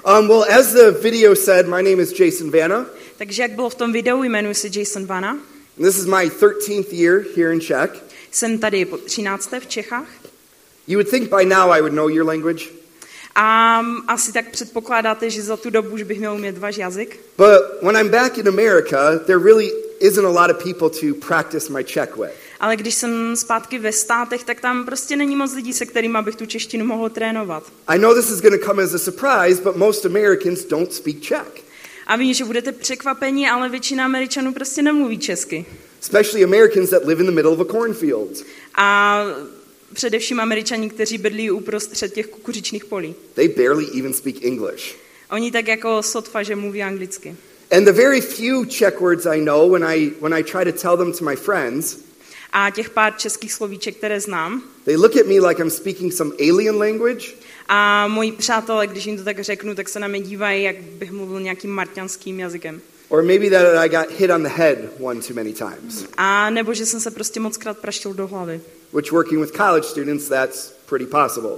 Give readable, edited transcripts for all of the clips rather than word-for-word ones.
Well, as the video said, my name is Jason Vanna. Takže jak bylo v tom videu, jmenuji se Jason Vanna. This is my 13th year here in Czech. Jsem tady po 13. v Čechách. You would think by now I would know your language. A asi tak předpokládáte, že za tu dobu už bych měl umět váš jazyk. But when I'm back in America, there really isn't a lot of people to practice my Czech with. Ale když jsem zpátky ve státech, tak tam prostě není moc lidí, se kterými bych tu češtinu mohl trénovat. I know this is going to come as a surprise, but most Americans don't speak Czech. A vím, že budete překvapeni, ale většina Američanů prostě nemluví česky. Especially Americans that live in the middle of a cornfield. A především Američani, kteří bydlí uprostřed těch kukuřičných polí. They barely even speak English. Oni tak jako sotva, že mluví anglicky. And the very few Czech words I know, when I try to tell them to my friends, A těch pár českých slovíček, které znám, they look at me like I'm speaking some alien language. a moji přátelé, když jim to tak řeknu, tak se na mě dívají, jak bych mluvil nějakým marťanským jazykem. Or maybe that I got hit on the head one too many times. A nebo že jsem se prostě mockrát praštil do hlavy. Which working with college students, that's pretty possible.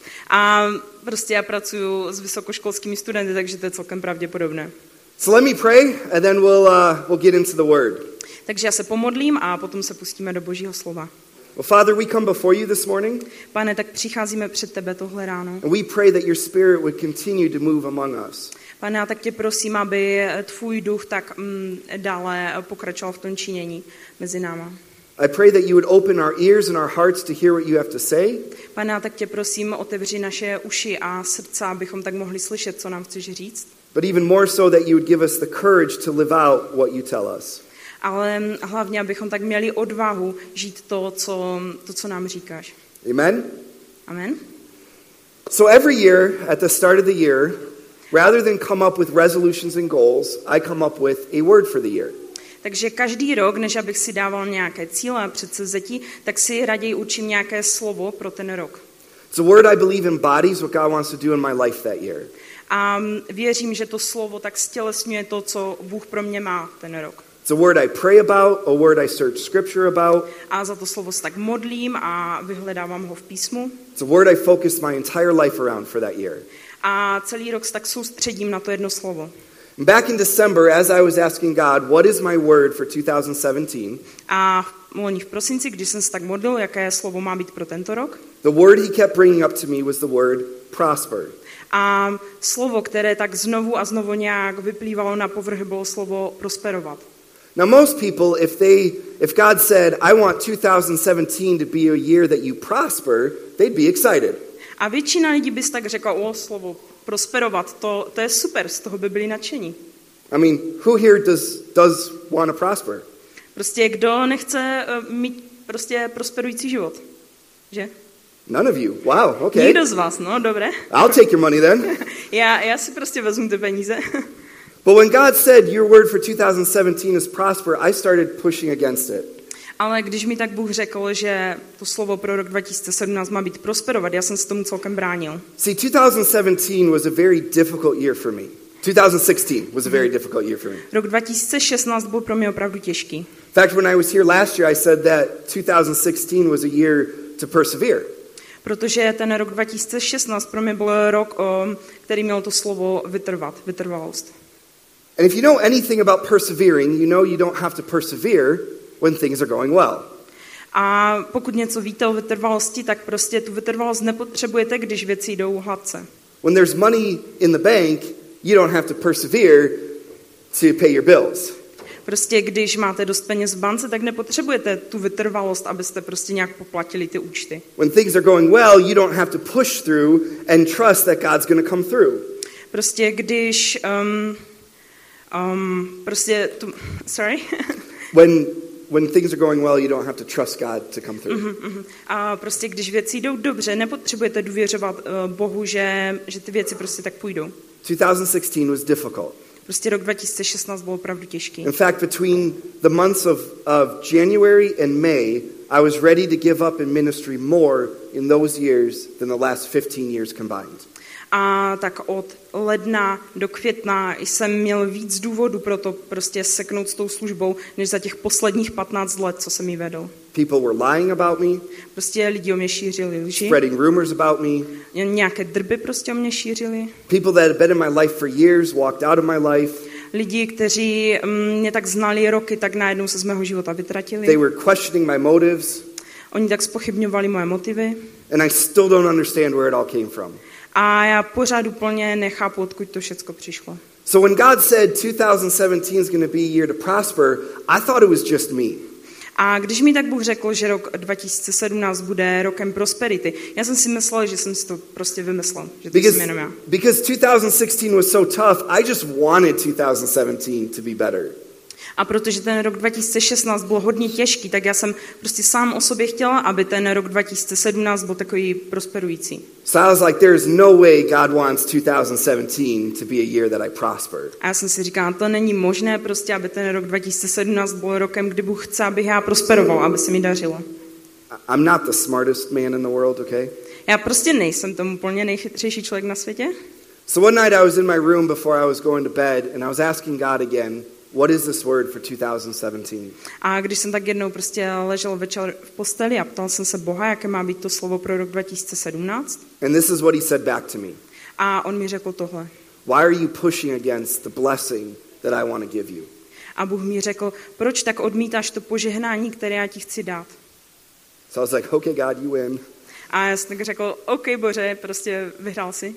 A prostě já pracuji s vysokoškolskými studenty, takže to je celkem pravděpodobné. So let me pray, and then we'll get into the word. Takže já se pomodlím a potom se pustíme do Božího slova. Well, Father, we come before you this morning, Pane, tak přicházíme před tebe tohle ráno. and we pray that your Spirit would continue to move among us. Pane, já tak tě prosím, aby tvůj duch tak dále pokračoval v tom činění mezi náma. I pray that you would open our ears and our hearts to hear what you have to say, Pane, já tak tě prosím, otevři naše uši a srdce, abychom tak mohli slyšet, co nám chceš říct. but even more so that you would give us the courage to live out what you tell us. Ale hlavně, abychom tak měli odvahu žít to, co nám říkáš. Amen? Amen. So every year, at the start of the year, rather than come up with resolutions and goals, I come up with a word for the year. Takže každý rok, než abych si dával nějaké cíle a předsevzetí, tak si raději učím nějaké slovo pro ten rok. It's a word I believe embodies what God wants to do in my life that year. A věřím, že to slovo tak stělesňuje to, co Bůh pro mě má ten rok. It's a word I pray about, a word I search scripture about. A za to slovo se tak modlím a vyhledávám ho v písmu. It's a word I focused my entire life around for that year. A celý rok se tak soustředím na to jedno slovo. Back in December, as I was asking God, what is my word for 2017, A loni v prosinci, když jsem se tak modlil, jaké slovo má být pro tento rok, the word he kept bringing up to me was the word prosper. a slovo, které tak znovu a znovu nějak vyplývalo na povrch, bylo slovo prosperovat. Now most people, if God said, I want 2017 to be a year that you prosper, they'd be excited. A většina lidí by si tak řekla, slovo prosperovat, to je super, z toho by byli nadšení. I mean, who here does want to prosper? Prostě kdo nechce mít prostě prosperující život, že? None of you. Wow, okay. Nikdo z vás, no, dobré. I'll take your money then. Já si prostě vezmu ty peníze. But when God said your word for 2017 is prosper, I started pushing against it. Ale když mi tak Bůh řekl, že to slovo pro rok 2017 má být prosperovat, já jsem se tomu celkem bránil. See, 2017 was a very difficult year for me. 2016 was a very difficult year for me. Rok 2016 byl pro mě opravdu těžký. In fact, when I was here last year, I said that 2016 was a year to persevere. Protože ten rok 2016 pro mě byl rok, který měl to slovo vytrvalost. And if you know anything about persevering, you know you don't have to persevere when things are going well. A pokud něco víte o vytrvalosti, tak prostě tu vytrvalost nepotřebujete, když věci jdou hladce. When there's money in the bank, you don't have to persevere to pay your bills. Prostě když máte dost peněz v bance, tak nepotřebujete tu vytrvalost, abyste prostě nějak poplatili ty účty. When things are going well, you don't have to push through and trust that God's going to come through. Prostě když When things are going well, you don't have to trust God to come through. A prostě když věci jdou dobře, nepotřebujete důvěřovat Bohu, že ty věci prostě tak půjdou. 2016 was difficult. Prostě rok 2016 byl opravdu těžký. In fact, between the months of January and May, I was ready to give up in ministry more in those years than the last 15 years combined. A tak od ledna do května jsem měl víc důvodů pro to prostě seknout s tou službou, než za těch posledních 15 let, co jsem ji vedl. People were lying about me, Prostě lidi o mě šířili lži. spreading rumors about me. Nějaké drby prostě o mě šířili. People that had been in my life for years walked out of my life. Lidi, kteří mě tak znali roky, tak najednou se z mého života vytratili. They were questioning my motives, Oni tak zpochybňovali moje motivy. and I still don't understand where it all came from. A já pořád úplně nechápu, odkud to všecko přišlo. So when God said 2017 is going to be a year to prosper, I thought it was just me. A když mi tak Bůh řekl, že rok 2017 bude rokem prosperity, já jsem si myslel, že jsem si to prostě vymyslel, že to jsem jenom já. Because 2016 was so tough, I just wanted 2017 to be better. A protože ten rok 2016 byl hodně těžký, tak já jsem prostě sám o sobě chtěla, aby ten rok 2017 byl takový prosperující. So I was like, there is no way God wants 2017 to be a year that I prospered. A já jsem si říkala, to není možné prostě, aby ten rok 2017 byl rokem, kdy Bůh chce, abych já prosperoval, aby se mi dařilo. I'm not the smartest man in the world, okay? Já prostě nejsem tomu úplně nejchytřejší člověk na světě. So one night I was in my room before I was going to bed, and I was asking God again, what is this word for 2017? A když jsem tak jednou prostě ležel večer v posteli a ptal jsem se Boha, jaké má být to slovo pro rok 2017. And this is what he said back to me. A on mi řekl tohle. Why are you pushing against the blessing that I want to give you? A Bůh mi řekl, proč tak odmítáš to požehnání, které já ti chci dát? So I was like, okay, God, you win. A já jsem tak řekl, OK, Bože, prostě vyhrál si.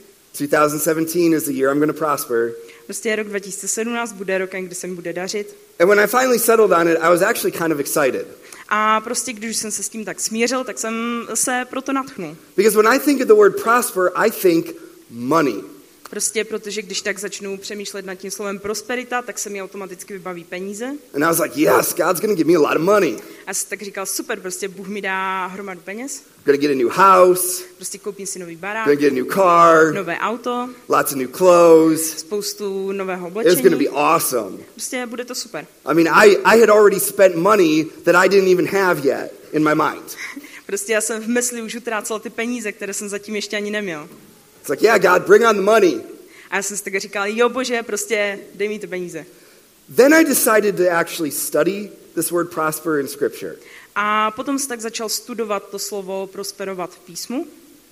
2017 is the year I'm going to prosper. Prostě rok 2017 bude rokem, kdy se mi bude dařit. And when I finally settled on it, I was actually kind of excited. A prostě když jsem se s tím tak smířil, tak jsem se proto nadchnul. Because when I think of the word prosper, I think money. Prostě protože když tak začnu přemýšlet nad tím slovem prosperita, tak se mi automaticky vybaví peníze. And I was like, yes, God's going to give me a lot of money. A jsem tak říkal, super, prostě Bůh mi dá hromadu peněz. I'm going to get a new house. Prostě koupím si nový barák, I'm going to get a new car. nové auto, Lots of new clothes. spoustu nového It's going to be oblečení. awesome. Prostě bude to super. I mean, I had already spent money that I didn't even have yet in my mind. Prostě já jsem v mysli už utrácel ty peníze, které jsem zatím ještě ani neměl. It's like, yeah, God, bring on the money. A já jsem si tak říkal, jo Bože, prostě dej mi ty peníze. Then I decided to actually study this word prosper in Scripture. A potom jsem tak začal studovat to slovo prosperovat v písmu.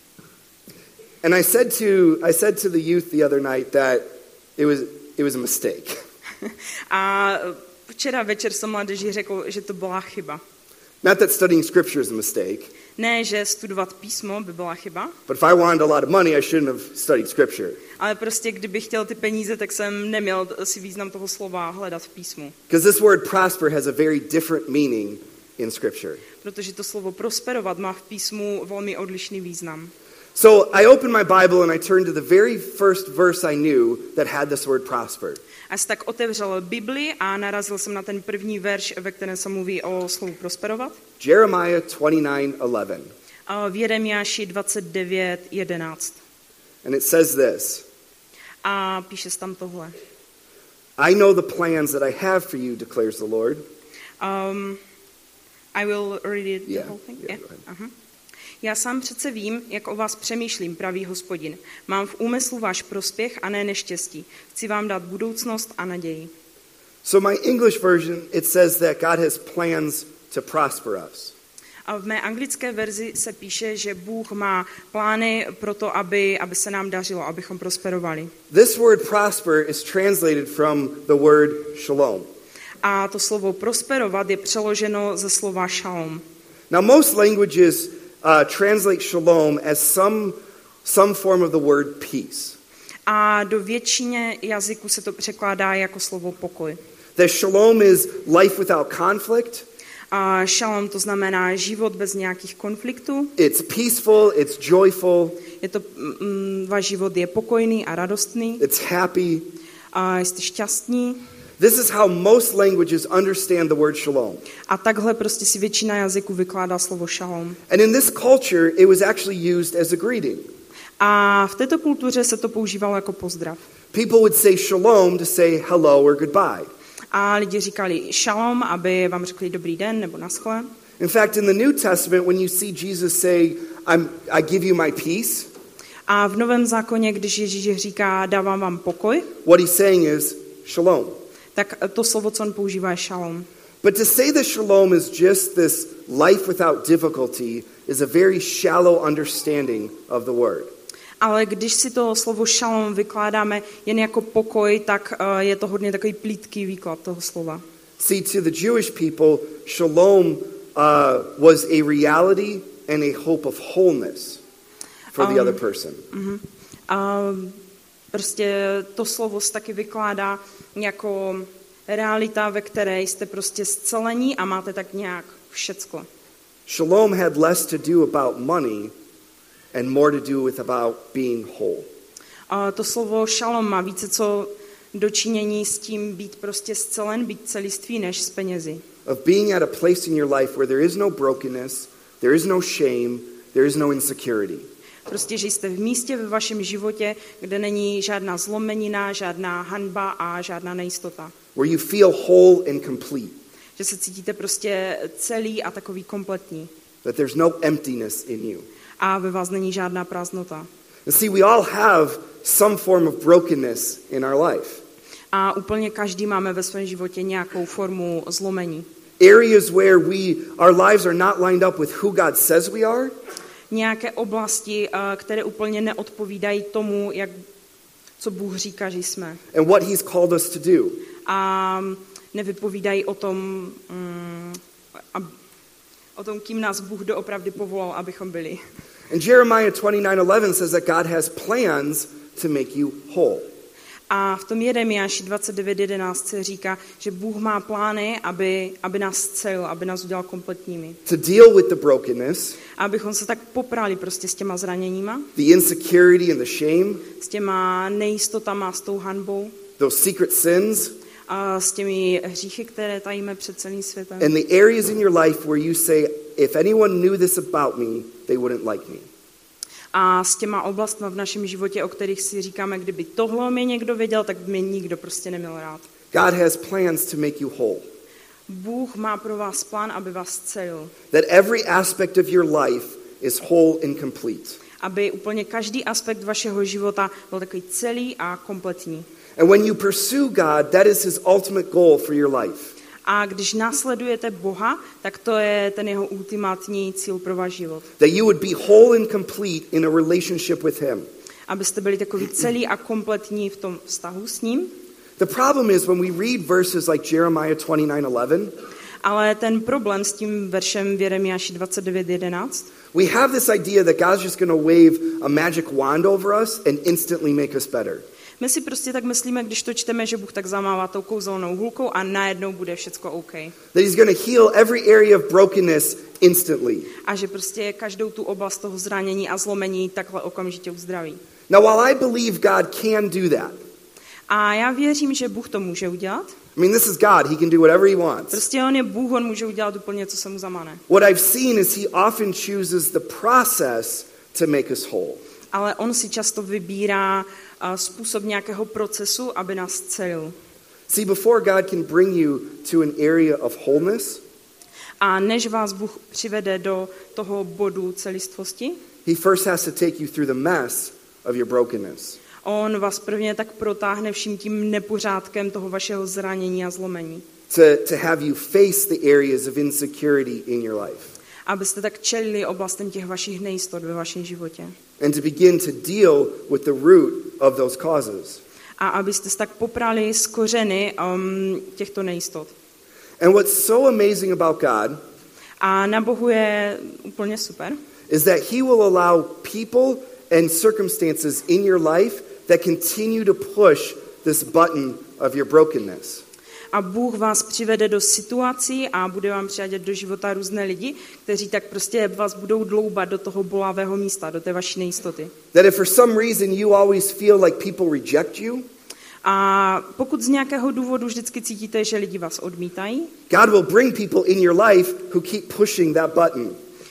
And I said to the youth the other night that it was a mistake. A včera večer jsem mládeži řekl, že to byla chyba. Not that studying Scripture is a mistake, Ne, že studovat písmo by byla chyba, but if I wanted a lot of money, I shouldn't have studied Scripture. ale prostě kdybych chtěl ty peníze, tak jsem neměl si význam toho slova hledat v písmu. Because this word prosper has a very different meaning in Scripture. Protože to slovo prosperovat má v písmu velmi odlišný význam. So I opened my Bible and I turned to the very first verse I knew that had this word prosper. A jsem tak otevřel Bibli a narazil jsem na ten první verš, ve kterém se mluví o slovu prosperovat. Jeremiah 29:11. A v Jeremiáši 29:11. And it says this, A píše se tam tohle. I know the plans that I have for you, declares the Lord. I will read it the Yeah, whole thing. yeah, go ahead. Aha. Já sám přece vím, jak o vás přemýšlím, pravý Hospodin. Mám v úmyslu váš prospěch a ne neštěstí. Chci vám dát budoucnost a naději. So my English version, it says that God has plans to prosper us. A v mé anglické verzi se píše, že Bůh má plány pro to, aby se nám dařilo, abychom prosperovali. This word prosper is translated from the word shalom. A to slovo prosperovat je přeloženo ze slova šalom. Now most languages translate shalom as some form of the word peace. A do většině jazyků se to překládá jako slovo pokoj. That shalom is life without conflict. A šalom to znamená život bez nějakých konfliktů. It's peaceful, it's joyful, Je to, váš život je pokojný a radostný. it's happy. A jste šťastní. This is how most languages understand the word shalom. A takhle prostě si většina jazyků vykládá slovo šalom. And in this culture, it was actually used as a greeting. A v této kultuře se to používalo jako pozdrav. People would say shalom to say hello or goodbye. A lidi říkali šalom, aby vám řekli dobrý den nebo naschle. In fact, in the New Testament, when you see Jesus say, I give you my peace, A v Novém zákoně, když Ježíš říká dávám vám pokoj, what he's saying is shalom. tak to slovo, co on používá, je šalom. But to say that shalom is just this life without difficulty is a very shallow understanding of the word. Ale když si to slovo šalom vykládáme jen jako pokoj, tak je to hodně takový plítký výklad toho slova. See, to the Jewish people, shalom was a reality and a hope of wholeness for the other person. Prostě to slovo se taky vykládá jako realita, ve které jste prostě zcelení a máte tak nějak všecko. Shalom had less to do about money and more to do with about being whole. To slovo šalom má více co dočinění s tím být prostě zcelen, být celistvý, než s penězi. Of being at a place in your life where there is no brokenness, there is no shame, there is no insecurity. Prostě, že jste v místě ve vašem životě, kde není žádná zlomenina, žádná hanba a žádná nejistota. Where you feel whole and complete. Že se cítíte prostě celý a takový kompletní. That there's no emptiness in you. A ve vás není žádná prázdnota. And see, we all have some form of brokenness in our life. A úplně každý máme ve svém životě nějakou formu zlomení. Areas where our lives are not lined up with who God says we are. Nějaké oblasti, které úplně neodpovídají tomu, co Bůh říká, že jsme. And what he's called us to do. A nevypovídají o tom, kým nás Bůh doopravdy povolal, abychom byli. And Jeremiah 29:11 says that God has plans to make you whole. A v tom Jeremiáši 29:11 se říká, že Bůh má plány, aby nás zcelil, aby nás udělal kompletními. To deal with the brokenness. Abychom se tak poprali prostě s těma zraněníma. The insecurity and the shame. S těma nejistotama, s tou hanbou. Those secret sins. A s těmi hříchy, které tajíme před celým světem. And the areas in your life where you say, if anyone knew this about me, they wouldn't like me. A s těma oblastmi v našem životě, o kterých si říkáme, kdyby tohle mě někdo věděl, tak by mě nikdo prostě neměl rád. God has plans to make you whole. Bůh má pro vás plán, aby vás zcelil. That every aspect of your life is whole and complete. Aby úplně každý aspekt vašeho života byl takový celý a kompletní. And when you pursue God, that is his ultimate goal for your life. A když následujete Boha, tak to je ten jeho ultimátní cíl pro váš život. That you would be whole and complete in a relationship with him. Abyste byli takový celý a kompletní v tom vztahu s ním. The problem is when we read verses like Jeremiah 29:11, ale ten problém s tím veršem v Jeremiáši 29:11, we have this idea that God's just going to wave a magic wand over us and instantly make us better. My si prostě tak myslíme, když to čteme, že Bůh tak zamává tou kouzelnou hůlkou a najednou bude všecko OK. That he's going to heal every area of brokenness instantly. A že prostě každou tu oblast toho zranění a zlomení takhle okamžitě uzdraví. Now while I believe God can do that. A já věřím, že Bůh to může udělat. I mean, this is God. He can do whatever he wants. Prostě on je Bůh, on může udělat úplně, co se mu zamane. What I've seen is he often chooses the process to make us whole. Ale on si často vybírá způsob nějakého procesu, aby nás celil. See, before God can bring you to an area of wholeness, a než vás Bůh přivede do toho bodu celistvosti, he first has to take you through the mess of your brokenness. On vás prvně tak protáhne vším tím nepořádkem toho vašeho zranění a zlomení. To have you face the areas of insecurity in your life. Abyste tak čelili oblastem těch vašich nejistot ve vašem životě. And to begin to deal with the root of those causes. A abyste se tak poprali s kořeny těchto nejistot. And what's so amazing about God, a na Bohu je úplně super, is that he will allow people and circumstances in your life that continue to push this button of your brokenness. A Bůh vás přivede do situací a bude vám přivádět do života různé lidi, kteří tak prostě vás budou dloubat do toho bolavého místa, do té vaší nejistoty. That if for some reason you always feel like people reject you, a pokud z nějakého důvodu vždycky cítíte, že lidi vás odmítají, God will bring people in your life who keep pushing that button.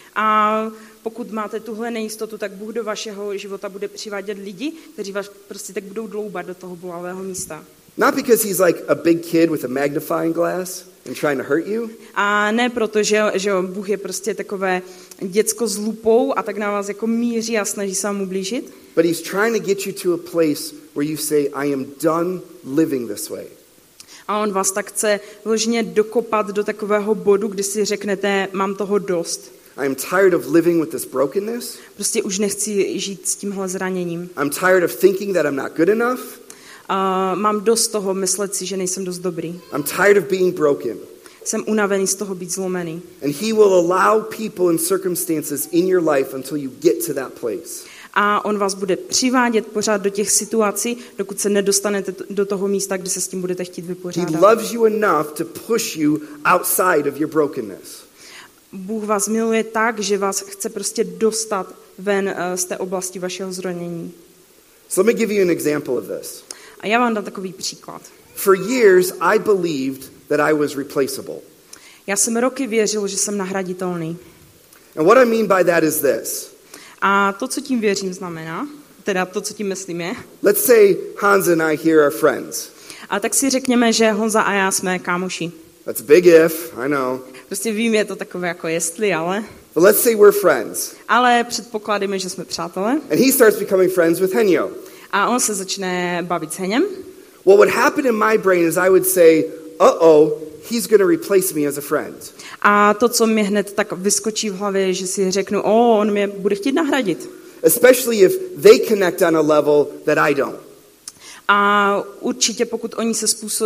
A pokud máte tuhle nejistotu, tak Bůh do vašeho života bude přivádět lidi, kteří vás prostě tak budou dloubat do toho bolavého místa. Not because he's like a big kid with a magnifying glass and trying to hurt you. A ne proto, že Bůh je prostě takové děcko s lupou a tak na vás jako míří a snaží se vám ublížit. But he's trying to get you to a place where you say, I am done living this way. A on vás tak chce vložně dokopat do takového bodu, kdy si řeknete, mám toho dost. I'm tired of living with this brokenness. Prostě už nechci žít s tímhle zraněním. I'm tired of thinking that I'm not good enough. Mám dost toho myslet si, že nejsem dost dobrý. I'm tired of being broken. Jsem unavený z toho být zlomený. And he will allow people and circumstances in your life until you get to that place. A on vás bude přivádět pořád do těch situací, dokud se nedostanete do toho místa, kde se s tím budete chtít He vypořádat. loves you enough to push you outside of your brokenness. Bůh vás miluje tak, že vás chce prostě dostat ven z té oblasti vašeho zranění. So let me give you an example of this. A já vám dám takový příklad. For years, I believed that I was replaceable. Já jsem roky věřil, že jsem nahraditelný. And what I mean by that is this. A to, co tím věřím, znamená, teda to, co tím myslím je, Let's say Hans and I here are friends. a tak si řekněme, že Honza a já jsme kámoši. That's a big if, I know. Prostě vím, je to takové jako jestli, ale. But let's say we're friends. Ale předpokládáme, že jsme přátelé. And he starts becoming friends with Henyo. A on se začne bavit s Heněm. What would happen in my brain is I would say, uh-oh, he's going to replace me as a friend. A to, co mi hned tak vyskočí v hlavě, je, že si řeknu, on mě bude chtít nahradit. Especially if they connect on a level that I don't. A určitě, pokud oni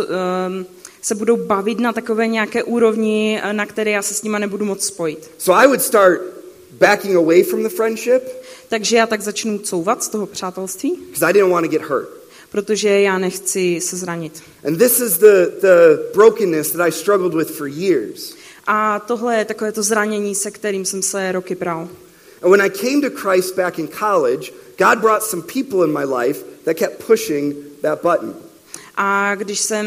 se budou bavit na takové nějaké úrovni, na které já se s nima nebudu moc spojit. So I would start backing away from the friendship. Takže já tak začnu couvat z toho přátelství, Because I didn't want to get hurt. protože já nechci se zranit. And this is the brokenness that I struggled with for years. A tohle je takové to zranění, se kterým jsem se roky bral. And when I came to Christ back in college, God brought some people in my life that kept pushing that button. A když jsem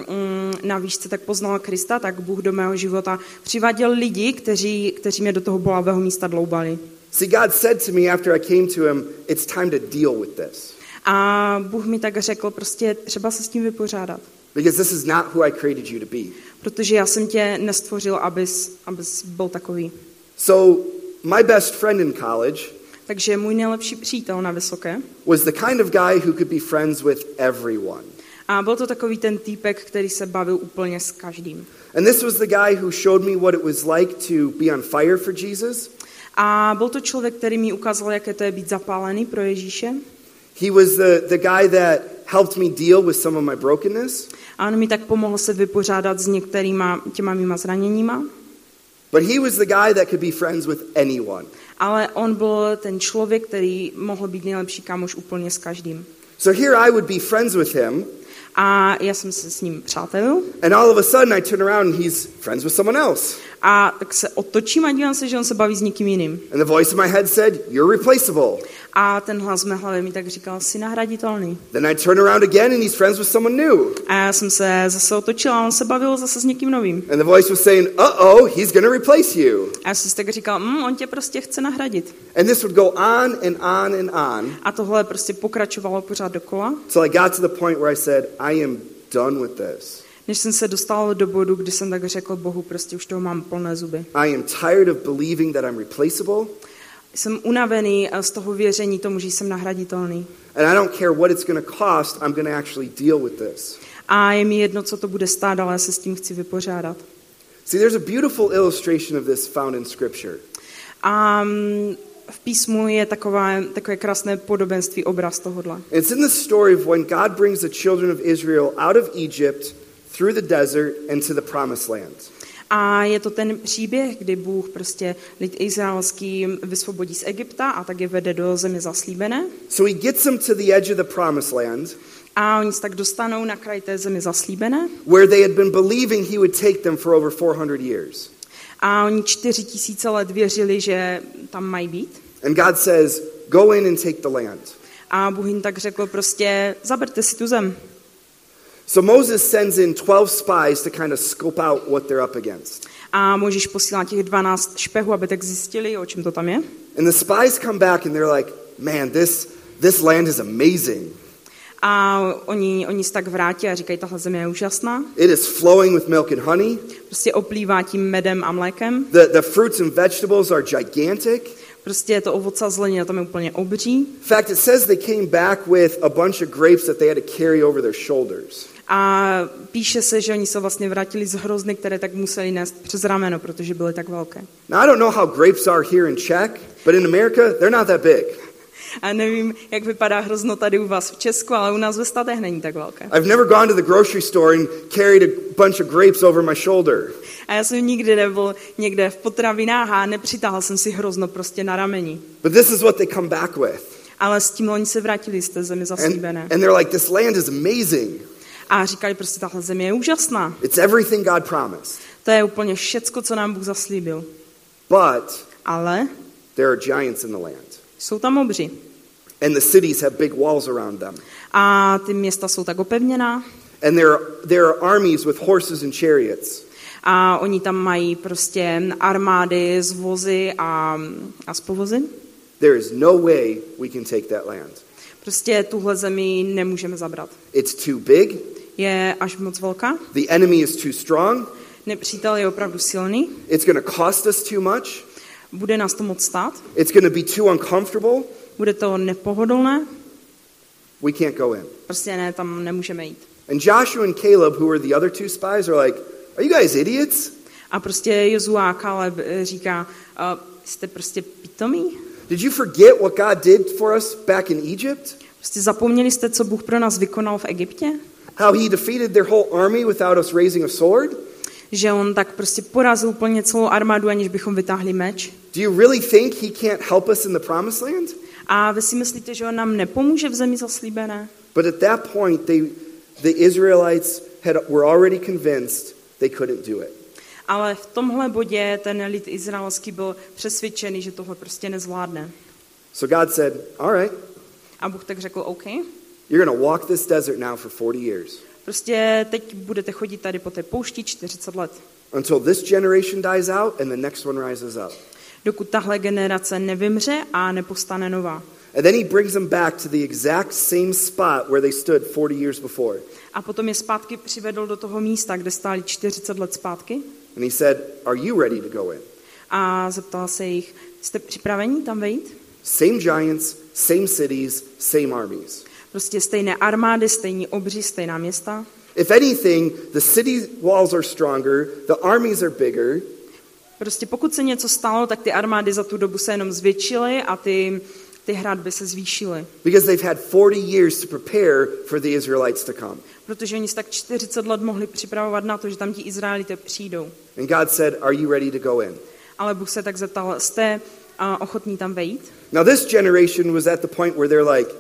na výšce tak poznal Krista, tak Bůh do mého života přiváděl lidi, kteří mě do toho bolavého místa dloubali. See, God said to me after I came to him, it's time to deal with this. A Bůh mi tak řekl, prostě třeba se s tím vypořádat. Because this is not who I created you to be. Protože já jsem tě nestvořil, abys byl takový. So my best friend in college Takže můj nejlepší přítel na vysoké. was the kind of guy who could be friends with everyone. A byl to takový ten týpek, který se bavil úplně s každým. And this was the guy who showed me what it was like to be on fire for Jesus. A byl to člověk, který mi ukázal, jaké to je být zapálený pro Ježíše. He was the guy that helped me deal with some of my brokenness. A on mi tak pomohl se vypořádat s některýma těma mýma zraněníma. But he was the guy that could be friends with anyone. Ale on byl ten člověk, který mohl být nejlepší kámoš úplně s každým. So here I would be friends with him. A já jsem se s ním přátelil. And all of a sudden I turn around and he's friends with someone else. A tak se otočím a dívám se, že on se baví s někým jiným. And the voice in my head said, "You're replaceable." A ten hlas v mé hlavě mi tak říkal, jsi nahraditelný. Then I turn around again and he's friends with someone new. A já jsem se zase otočila a on se bavil zase s někým novým. And the voice was saying, "Uh-oh, he's going to replace you." A já jsem si tak říkal, on tě prostě chce nahradit. And this would go on and on and on. A tohle prostě pokračovalo pořád dokola. Till I got to the point where I said, "I am done with this. Než jsem se dostal do bodu, kdy jsem tak řekl Bohu, prostě už toho mám plné zuby. I am tired of believing that I'm replaceable. Jsem unavený z toho věření tomu, že jsem nahraditelný. And I don't care what it's going to cost, I'm going to actually deal with this." A je mi jedno, co to bude stát, ale já se s tím chci vypořádat. See, there's a beautiful illustration of this found in Scripture. A v písmu je takové krásné podobenství, obraz tohodle. It's in the story of when God brings the children of Israel out of Egypt through the desert and to the promised land. A je to ten příběh, kdy Bůh prostě lid izraelský vysvobodí z Egypta a tak je vede do země zaslíbené. So he gets them to the edge of the promised land. A oni se tak dostanou na kraj té země zaslíbené. Where they had been believing he would take them for over 400 years. A oni 4000 let věřili, že tam mají být. And God says, "Go in and take the land." A Bůh jim tak řekl prostě, zaberte si tu zem. So Moses sends in 12 spies to kind of scope out what they're up against. A Mojžíš posílá těch 12 špehů, aby tak zjistili, o čem to tam je. And the spies come back and they're like, "Man, this land is amazing. A oni se tak vrátí a říkají, tahle země je úžasná. It is flowing with milk and honey. Prostě oplývá tím medem a mlékem. The fruits and vegetables are gigantic. Prostě to ovoce a zelenina tam je úplně obří. In fact, it says they came back with a bunch of grapes that they had to carry over their shoulders. A píše se, že oni se vlastně vrátili z hrozny, které tak museli nést přes rameno, protože byly tak velké. Now, I don't know how grapes are here in Czech, but in America, they're not that big. A nevím, jak vypadá hrozno tady u vás v Česku, ale u nás ve státech není tak velké. I've never gone to the grocery store and carried a bunch of grapes over my shoulder. A já jsem nikdy nebyl někde v potravinách a nepřitáhl jsem si hrozno prostě na rameni. But this is what they come back with. Ale s tím oni se vrátili z té zemi zaslíbené. And they're like, this land is amazing. A říkali prostě, tahle země je úžasná. It's everything God promised. To je úplně všecko, co nám Bůh zaslíbil. But Ale there are giants in the land. jsou tam obři. And the cities have big walls around them. A ty města jsou tak opevněná. And there are armies with horses and chariots. A oni tam mají prostě armády s vozy a s povozy. There is no way we can take that land. Prostě tuhle zemi nemůžeme zabrat. It's too big. Je až moc velká. The enemy is too strong. Nepřítel je opravdu silný. It's going to cost us too much. Bude nás to moc stát. It's going to be too uncomfortable. Bude to nepohodlné. We can't go in. Prostě ne, tam nemůžeme jít. And Joshua and Caleb, who were the other two spies, are like, are you guys idiots? A prostě Jozua a Kaleb říká, jste prostě pitomí? Did you forget what God did for us back in Egypt? Prostě zapomněli jste, co Bůh pro nás vykonal v Egyptě? How he defeated their whole army without us raising a sword? Že on tak prostě porazil úplně celou armádu, aniž bychom vytáhli meč? Do you really think he can't help us in the promised land? A vy si myslíte, že on nám nepomůže v zemi zaslíbené? But at that point, the Israelites were already convinced they couldn't do it. Ale v tomhle bodě ten lid izraelský byl přesvědčený, že tohle prostě nezvládne. So God said, all right, A Bůh tak řekl, OK, you're going to walk this desert now for 40 years. prostě teď budete chodit tady po té poušti 40 let. Until this generation dies out and the next one rises up. Dokud tahle generace nevymře a nepostane nová. And then he brings them back to the exact same spot where they stood 40 years before. A potom je zpátky přivedl do toho místa, kde stáli 40 let zpátky. And he said, are you ready to go in? A zeptal se jich, jste připraveni tam vejít? Same giants, same cities, same armies. Prostě stejné armády, stejní obři, stejná města. If anything, the city walls are stronger, the armies are bigger. Prostě pokud se něco stalo, tak ty armády za tu dobu se jenom zvětšily a ty hradby se zvýšily. Because they've had 40 years to prepare for the Israelites to come. Protože oni se tak 40 let mohli připravovat na to, že tam ti Izraelité přijdou. And God said, are you ready to go in? Ale Bůh se tak zeptal, jste ochotní tam vejít? Now this generation was at the point where they're like,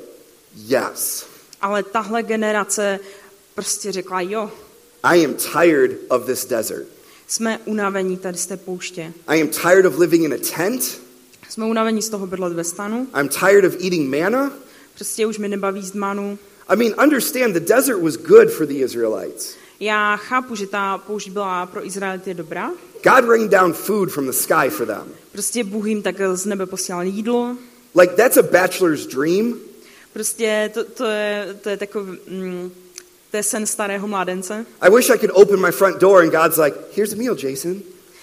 yes. Ale tahle generace prostě řekla, jo, I am tired of this desert. jsme unavení tady z té pouště. I am tired of living in a tent. Jsme unavení z toho bydlet ve stanu. I'm tired of eating manna. Prostě už mi nebaví jíst manu. I mean, understand, the desert was good for the Israelites. Já chápu, že ta poušť byla pro Izraelity dobrá. God rained down food from the sky for them. Prostě Bůh jim tak z nebe posílal jídlo. Like, that's a bachelor's dream. Prostě to je takový, to je sen starého mládence. I wish I could open my front door and God's like, here's a meal, Jason.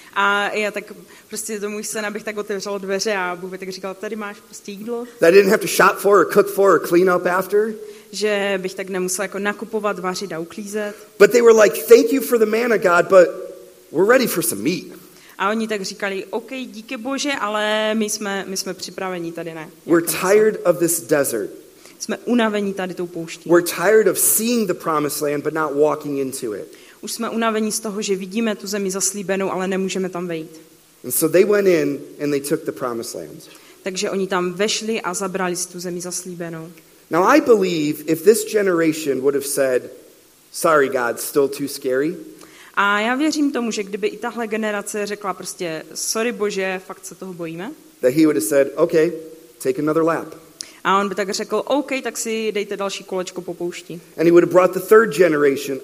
A já tak prostě to můj sen, abych tak otevřel dveře a Bůh by tak říkal, tady máš prostě jídlo. That I didn't have to shop for or cook for or clean up after. Že bych tak nemusel jako nakupovat, vařit a uklízet. But they were like, thank you for the manna, God, but we're ready for some meat. A oni tak říkali, OK, díky Bože, ale my jsme připraveni tady, ne. We're tired of this desert. Jsme unavení tady tou pouští. We're tired of seeing the promised land but not walking into it. Už jsme unavení z toho, že vidíme tu zemi zaslíbenou, ale nemůžeme tam vejít. And so they went in and they took the promised land. Takže oni tam vešli a zabrali si tu zemi zaslíbenou. Now I believe if this generation would have said, sorry God, still too scary. A já věřím tomu, že kdyby i tahle generace řekla prostě, sorry Bože, fakt se toho bojíme. That he would have said, okay, take another lap. A on by tak řekl, OK, tak si dejte další kolečko po poušti. And he would have brought the third generation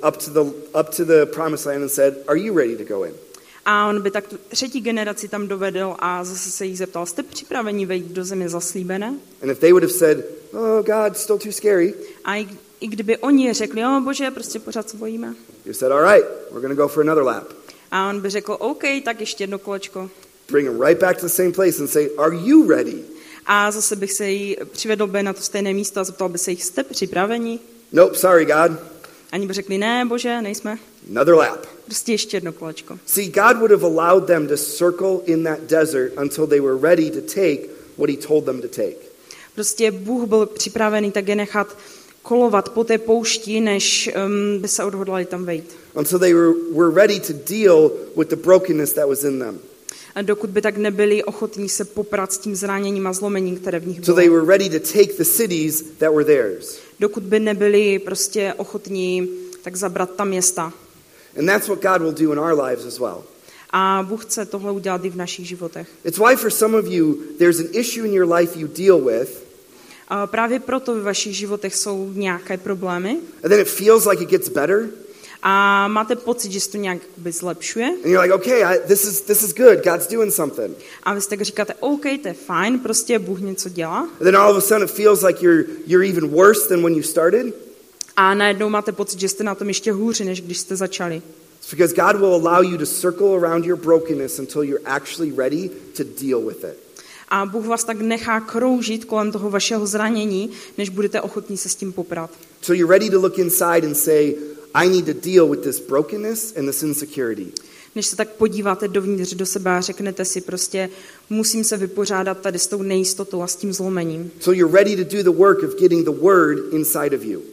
up to the promised land and said, are you ready to go in? A on by tak tu třetí generaci tam dovedl a zase se jí zeptal, jste připraveni vejít do země zaslíbené? And if they would have said, oh God, still too scary. A i kdyby oni řekli, jo Bože, prostě pořád se bojíme. You said, all right, we're going to go for another lap. A on by řekl, OK, tak ještě jedno kolečko. bring them right back to the same place and say, are you ready? A zase bych se jí přivedl by na to stejné místo a zeptal by se jich, jste připraveni? Nope, sorry, God. Ani by řekli, ne, Bože, nejsme. Another lap. Prostě ještě jedno kolečko. See, God would have allowed them to circle in that desert until they were ready to take what he told them to take. Prostě Bůh byl připravený tak je nechat kolovat po té poušti, než by se odhodlali tam vejít. Until they were ready to deal with the brokenness that was in them. A dokud by tak nebyli ochotní se poprat s tím zraněním a zlomením, které v nich So they bylo. were ready to take the cities that were theirs. Dokud by nebyli prostě ochotní tak zabrat ta města. And that's what God will do in our lives as well. A Bůh chce tohle udělat i v našich životech. It's why for some of you, there's an issue in your life you deal with, A právě proto v vašich životech jsou nějaké problémy and then it feels like it gets better, a máte pocit, že se to nějak zlepšuje. and you're like, okay, this is good, God's doing something. A vy si tak říkáte, OK, to je fajn, prostě Bůh něco dělá. And then all of a sudden it feels like you're even worse than when you started. A najednou máte pocit, že jste na tom ještě hůři, než když jste začali. It's because God will allow you to circle around your brokenness until you're actually ready to deal with it. A Bůh vás tak nechá kroužit kolem toho vašeho zranění, než budete ochotní se s tím poprat. So you're ready to look inside and say, I need to deal with this brokenness and this insecurity. Než se tak podíváte dovnitř do sebe a řeknete si prostě, musím se vypořádat tady s tou nejistotou a s tím zlomením. So you're ready to do the work of getting the word inside of you.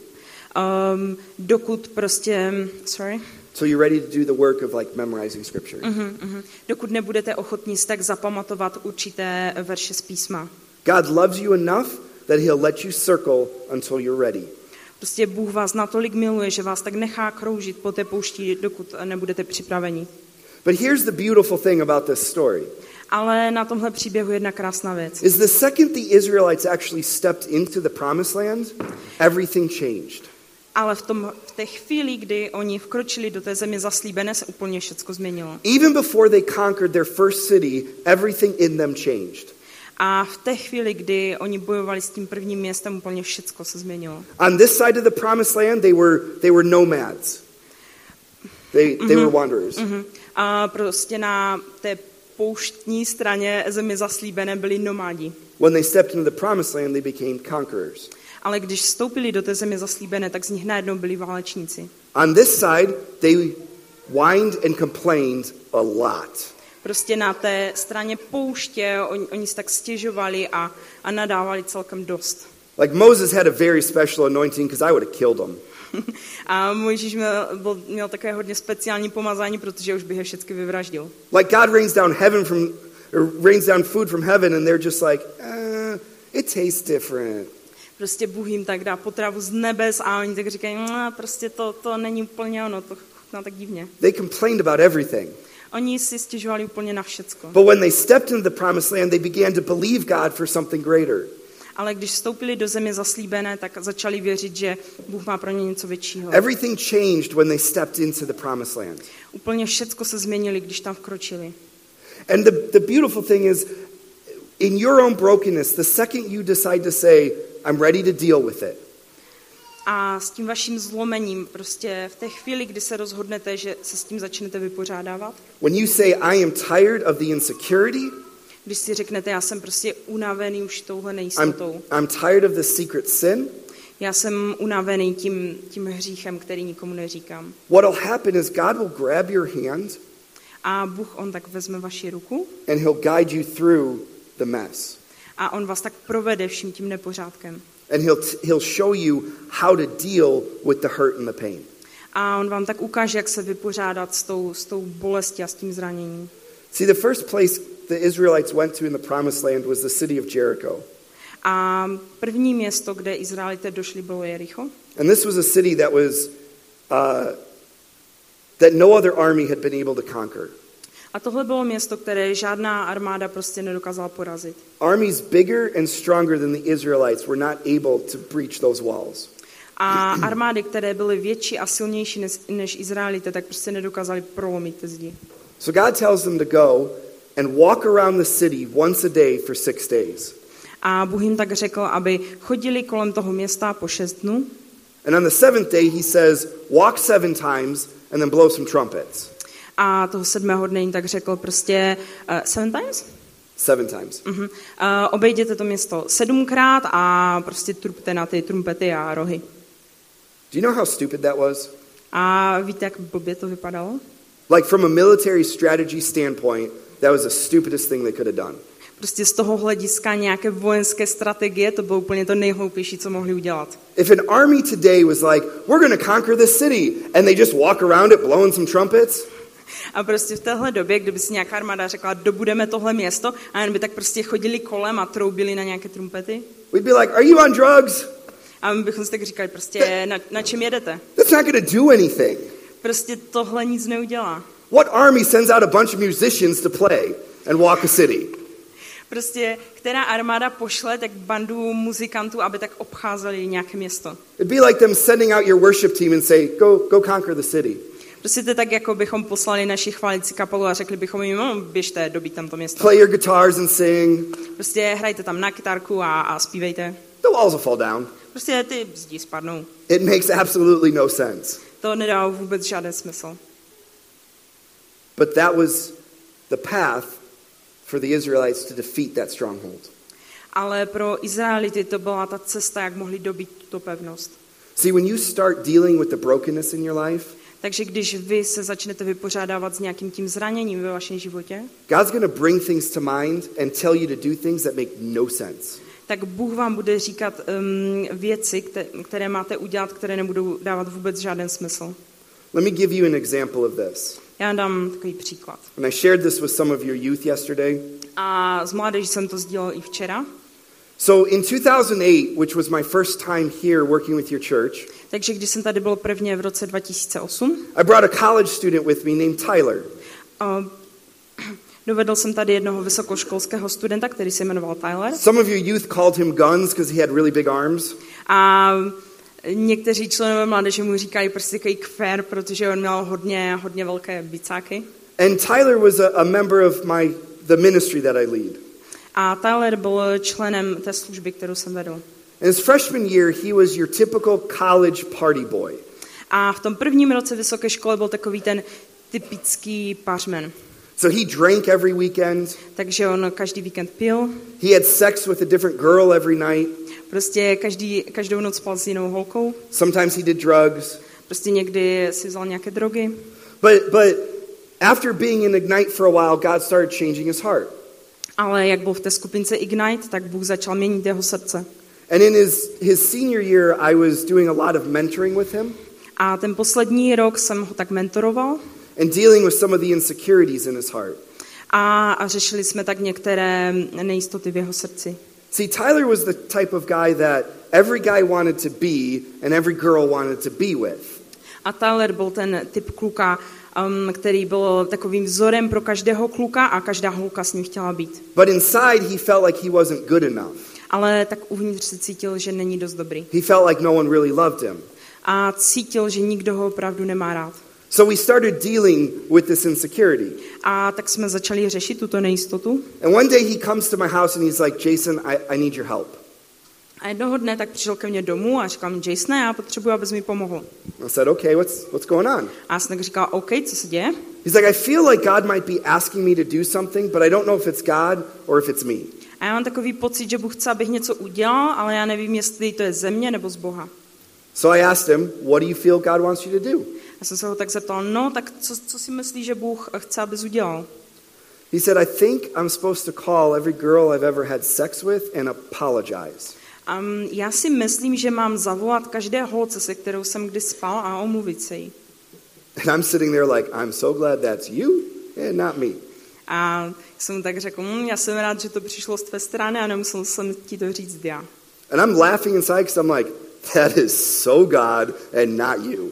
Dokud prostě, So you're ready to do the work of like memorizing scripture. Dokud nebudete ochotní si tak zapamatovat určité verše z písma. God loves you enough that he'll let you circle until you're ready. Prostě Bůh vás natolik miluje, že vás tak nechá kroužit po té poušti, dokud nebudete připraveni. But here's the beautiful thing about this story. Ale na tomhle příběhu jedna krásná věc. Is the second the Israelites actually stepped into the promised land, everything changed. Ale v té chvíli, kdy oni vkročili do té země zaslíbené, se úplně všecko změnilo. Even before they conquered their first city, everything in them changed. A v té chvíli, kdy oni bojovali s tím prvním městem, úplně všecko se změnilo. On this side of the promised land, they were nomads. They were wanderers. A prostě na té pouštní straně země zaslíbené byli nomádi. When they stepped into the promised land, they became conquerors. Ale když vstoupili do té země zaslíbené, tak z nich najednou byli válečníci. On this side, they whined and complained a lot. Prostě na té straně pouště oni se tak stěžovali a nadávali celkem dost. Like Moses had a very special anointing because I would have killed him. A Mojžíš měl takové hodně speciální pomazání, protože už bych je všechny vyvraždil. Like God rains down food from heaven and they're just like, it tastes different. Prostě Bůh jim tak dá potravu z nebes a oni tak říkají, prostě to není úplně ono, to chutná tak divně. They complained about everything. Oni si stěžovali úplně na všecko. But when they stepped into the promised land, they began to believe God for something greater. Ale když vstoupili do země zaslíbené, tak začali věřit, že Bůh má pro ně něco většího. Everything changed when they stepped into the promised land. Úplně všecko se změnili, když tam vkročili. And the beautiful thing is, in your own brokenness, the second you decide to say, I'm ready to deal with it. A s tím vaším zlomením, prostě v té chvíli, kdy se rozhodnete, že se s tím začnete vypořádávat, When you say, I am tired of the insecurity, když si řeknete, já jsem prostě unavený už touhle nejistotou, I'm tired of the secret sin, já jsem unavený tím hříchem, který nikomu neříkám. what'll happen is God will grab your hand A Bůh, on tak vezme vaši ruku and he'll guide you through the mess. a on vás tak provede vším tím nepořádkem. And he'll show you how to deal with the hurt and the pain. A on vám tak ukáže, jak se vypořádat s tou bolestí a s tím zraněním. See, the first place the Israelites went to in the promised land was the city of Jericho. A první město, kde Izraelité došli, bylo Jericho. And this was a city that was that no other army had been able to conquer. A tohle bylo město, které žádná armáda prostě nedokázala porazit. Armies bigger and stronger than the Israelites were not able to breach those walls. A armády, které byly větší a silnější než Izraelité, tak prostě nedokázali prolomit ty zdi. So God tells them to go and walk around the city once a day for 6 days. A Bůh jim tak řekl, aby chodili kolem toho města po 6 dnů. And on the 7th day he says, walk 7 times and then blow some trumpets. A toho 7. dne jim tak řekl prostě 7 times? 7 times. Obejděte to město 7krát a prostě trubte na ty trumpety a rohy. Do you know how stupid that was? A víte, jak blbě to vypadalo? Like from a military strategy standpoint, that was the stupidest thing they could have done. Prostě z toho hlediska nějaké vojenské strategie, to bylo úplně to nejhloupější, co mohli udělat. If an army today was like, we're going to conquer this city, and they just walk around it blowing some trumpets, a prostě v téhle době, kdyby si nějaká armáda řekla, dobudeme tohle město, a jen by tak prostě chodili kolem a troubili na nějaké trumpety. we'd be like, are you on drugs? A my bychom si tak říkali, prostě na čem jedete? That's not going to do anything. Prostě tohle nic neudělá. What army sends out a bunch of musicians to play and walk a city? Prostě, která armáda pošle tak bandu muzikantů, aby tak obcházeli nějaké město. It'd be like them sending out your worship team and say, go conquer the city. Prostě to je tak, jako bychom poslali naši chválící kapelu a řekli bychom jim, no, běžte, dobít tam to město. Play your guitars and sing. Prostě hrajte tam na kytarku a zpívejte. The walls will fall down. Prostě ty zdi spadnou. It makes absolutely no sense. To nedá vůbec žádný smysl. But that was the path for the Israelites to defeat that stronghold. Ale pro Izraelity to byla ta cesta, jak mohli dobít tuto pevnost. See, when you start dealing with the brokenness in your life, Takže když vy se začnete vypořádávat s nějakým tím zraněním ve vašem životě, God's going to bring things to mind and tell you to do things that make no sense. tak Bůh vám bude říkat věci, které máte udělat, které nebudou dávat vůbec žádný smysl. Let me give you an example of this. Já dám takový příklad. And I shared this with some of your youth yesterday. A z mládeží jsem to sdílel i včera. So in 2008, which was my first time here working with your church, Takže když jsem tady byl prvně v roce 2008, I brought a college student with me named Tyler. dovedl jsem tady jednoho vysokoškolského studenta, který se jmenoval Tyler. Some of your youth called him Guns because he had really big arms. A někteří členové mládeže mu říkají prostě takový kfer, protože on měl hodně velké bicáky. And Tyler was a member of the ministry that I lead. A Tyler byl členem té služby, kterou jsem vedl. In his freshman year, he was your typical college party boy. A v tom prvním roce vysoké školy byl takový ten typický pařmen. So he drank every weekend. Takže on každý víkend pil. He had sex with a different girl every night. Prostě každou noc spal s jinou holkou. Sometimes he did drugs. Prostě někdy si vzal nějaké drogy. But after being in Ignite for a while, God started changing his heart. Ale jak byl v té skupince Ignite, tak Bůh začal měnit jeho srdce. And in his senior year, I was doing a lot of mentoring with him. A ten poslední rok jsem ho tak mentoroval. And dealing with some of the insecurities in his heart. A řešili jsme tak některé nejistoty v jeho srdci. See, Tyler was the type of guy that every guy wanted to be and every girl wanted to be with. A Tyler byl ten typ kluka, který byl takovým vzorem pro každého kluka a každá holka s ním chtěla být. But inside, he felt like he wasn't good enough. Ale tak uvnitř se cítil, že není dost dobrý. He felt like no one really loved him. A cítil, že nikdo ho opravdu nemá rád. So we started dealing with this insecurity. A tak jsme začali řešit tuto nejistotu. And one day he comes to my house and he's like, Jason, I need your help. A jednoho dne tak přišel ke mně domů a říkal mi, Jasone, já potřebuji, abys mi pomohl. I said, okay, what's going on? A já jsem tak říkal, OK, co se děje? He's like, I feel like God might be asking me to do something, but I don't know if it's God or if it's me. A já mám takový pocit, že Bůh chce, abych něco udělal, ale já nevím, jestli to je ze mě nebo z Boha. So I asked him, what do you feel God wants you to do? Já jsem se ho tak zeptal, no, tak co si myslíš, že Bůh chce, abys udělal? He said, I think I'm supposed to call every girl I've ever had sex with and apologize. Já si myslím, že mám zavolat každé holce, se kterou jsem kdy spal, a omluvit se jí. And I'm sitting there like, I'm so glad that's you and not me. A jsem mu tak řekl, já jsem rád, že to přišlo z tvé strany a nemusel jsem ti to říct já. And I'm laughing inside because I'm like, that is so God and not you.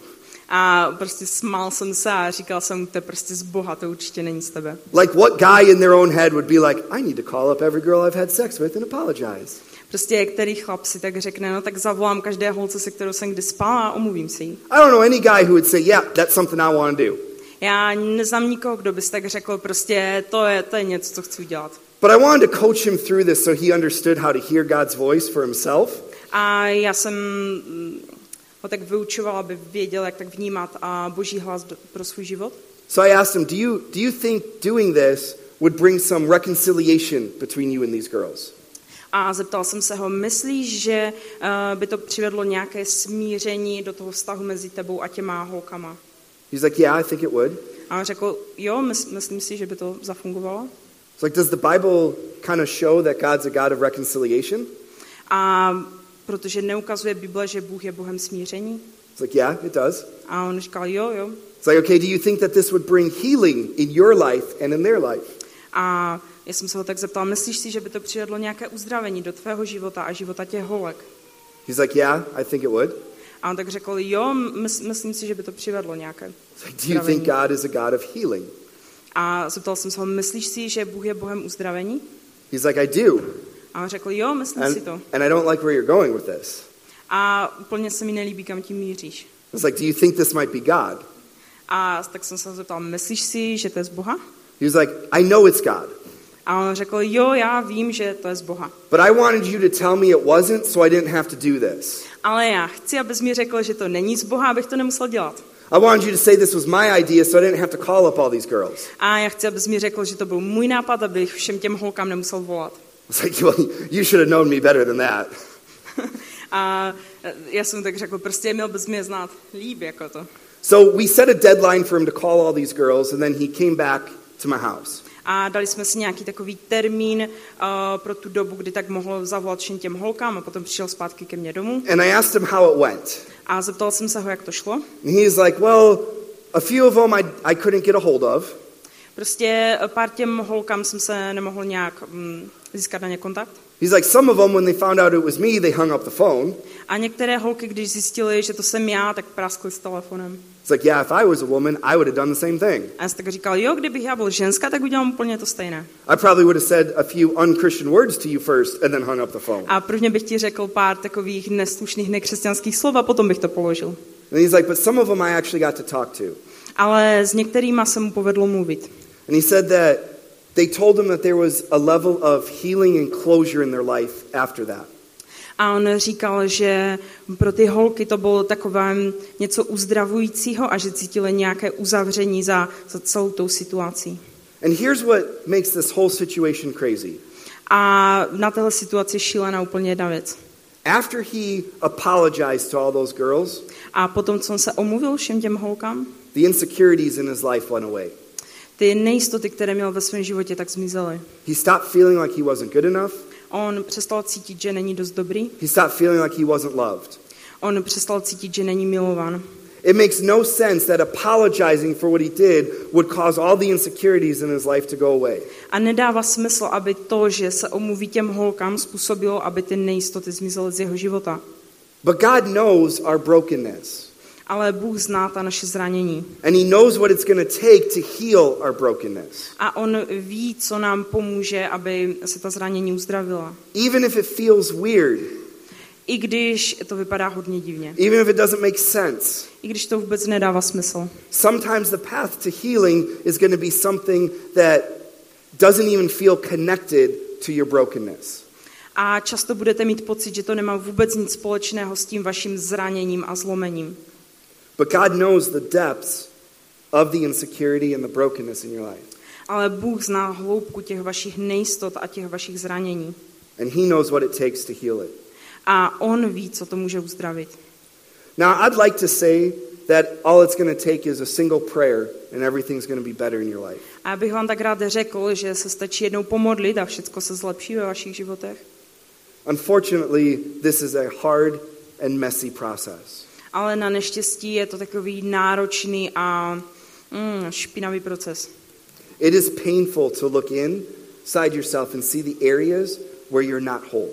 A prostě smál jsem se a říkal jsem, to je prostě z Boha, to určitě není z tebe. Like what guy in their own head would be like, I need to call up every girl I've had sex with and apologize. Prostě který chlap si tak řekne, no tak zavolám každé holce, se kterou jsem kdy spal, a omluvím se jí. I don't know any guy who would say, yeah, that's something I want to do. Já neznám nikoho, kdo bys tak řekl, prostě to je něco, co chci udělat. But I wanted to coach him through this so he understood how to hear God's voice for himself. A já jsem ho tak vyučovala, aby věděl, jak tak vnímat a Boží hlas pro svůj život. So I asked him, do you think doing this would bring some reconciliation between you and these girls? A zeptal jsem se ho, myslíš, že by to přivedlo nějaké smíření do toho vztahu mezi tebou a těma holkama? He's like, yeah, I think it would. A on řekl, jo, myslím si, že by to zafungovalo. It's like, does the Bible kind of show that God's a God of reconciliation? A protože neukazuje Bible, že Bůh je Bohem smíření? It's like, yeah, it does. A on říkal, jo. It's like, okay, do you think that this would bring healing in your life and in their life? A já jsem se ho tak zeptal, myslíš si, že by to přivedlo nějaké uzdravení do tvého života a života těch holek? He's like, yeah, I think it would. A on tak řekl, jo, myslím si, že by to přivedlo nějaké Do you think God is a God of healing? A zeptal jsem se ho, myslíš si, že Bůh je Bohem uzdravení? He's like, I do. A on řekl, jo, myslím si to. And I don't like where you're going with this. A úplně se mi nelíbí, kam tím míříš. It's like, do you think this might be God? A tak jsem se ho zeptal, myslíš si, že to je z Boha? He was like, I know it's God. A on řekl, jo, já vím, že to je z Boha. But I wanted you to tell me it wasn't, so I didn't have to do this. Ale já chci, abys mi řekl, že to není z Boha, abych to nemusel dělat. I wanted you to say this was my idea, so I didn't have to call up all these girls. A já chci, abys mi řekl, že to byl můj nápad, abych všem těm holkám nemusel volat. It's like, well, you should have known me better than that. A já jsem tak řekl, prostě měl bys mě znát líp jako to. So we set a deadline for him to call all these girls, and then he came back to my house. A dali jsme si nějaký takový termín pro tu dobu, kdy tak mohl zavolat všem těm holkám a potom přišel zpátky ke mně domů. And I asked him how it went. A zeptal jsem se ho, jak to šlo. And he was like, well, a few of them I couldn't get a hold of. Prostě pár těm holkám jsem se nemohl nějak získat na ně kontakt. He's like, some of them, when they found out it was me, they hung up the phone. A některé holky, když zjistili, že to jsem já, tak praskly s telefonem. It's like, yeah, if I was a woman, I would have done the same thing. A já jsem tak říkal, jo, kdybych já byl ženská, tak udělám úplně to stejné. I probably would have said a few unchristian words to you first and then hung up the phone. A prvně bych ti řekl pár takových neslušných, nekřesťanských slov a potom bych to položil. And he's like, but some of them I actually got to talk to. Ale s některýma se mu povedlo mluvit. And he said that they told him that there was a level of healing and closure in their life after that. A on říkal, že pro ty holky to bylo takové něco uzdravujícího a že cítili nějaké uzavření za celou tou situací. And here's what makes this whole situation crazy. A na téhle situaci šílená úplně jedna věc. After he apologized to all those girls, A potom, co on se omluvil všem těm holkám, the insecurities in his life went away. ty nejistoty, které měl ve svém životě, tak zmizely. He stopped feeling like he wasn't good enough. On přestal cítit, že není dost dobrý. He stopped feeling like he wasn't loved. On přestal cítit, že není milován. It makes no sense that apologizing for what he did would cause all the insecurities in his life to go away. A nedává smysl, aby to, že se omluví těm holkám, způsobilo, aby ty nejistoty zmizely z jeho života. But God knows our brokenness. Ale Bůh zná ta naše zranění. And he knows what it's going to take to heal our brokenness. A on ví, co nám pomůže, aby se ta zranění uzdravila. Even if it feels weird. I když to vypadá hodně divně. Even if it doesn't make sense. I když to vůbec nedává smysl. Sometimes the path to healing is going to be something that doesn't even feel connected to your brokenness. A často budete mít pocit, že to nemá vůbec nic společného s tím vaším zraněním a zlomením. But God knows the depths of the insecurity and the brokenness in your life. Ale Bůh zná hloubku těch vašich nejistot a těch vašich zranění. And he knows what it takes to heal it. A on ví, co to může uzdravit. Now, I'd like to say that all it's going to take is a single prayer and everything's going to be better in your life. A já bych vám tak rád řekl, že se stačí jednou pomodlit a všechno se zlepší ve vašich životech. Unfortunately, this is a hard and messy process. Ale na neštěstí je to takový náročný a špinavý proces. It is painful to look inside yourself and see the areas where you're not whole.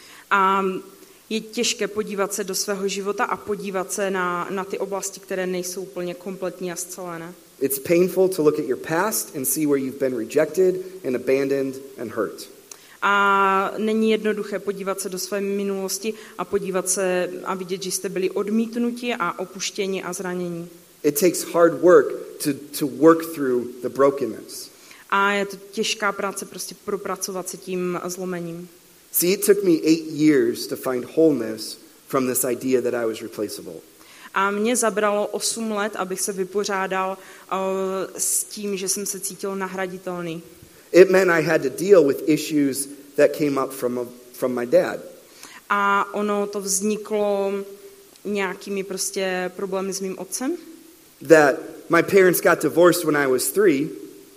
A je těžké podívat se do svého života a podívat se na ty oblasti, které nejsou úplně kompletní a scelené. It's painful to look at your past and see where you've been rejected and abandoned and hurt. A není jednoduché podívat se do své minulosti a podívat se a vidět, že jste byli odmítnuti a opuštěni a zranění. It takes hard work to work through the brokenness. A je to těžká práce prostě propracovat se tím zlomením. See, it took me 8 years to find wholeness from this idea that I was replaceable. A mě zabralo 8 let, abych se vypořádal s tím, že jsem se cítil nahraditelný. It meant I had to deal with issues that came up from my dad. A ono to vzniklo nějakými prostě problémy s mým otcem. That my parents got divorced when I was 3.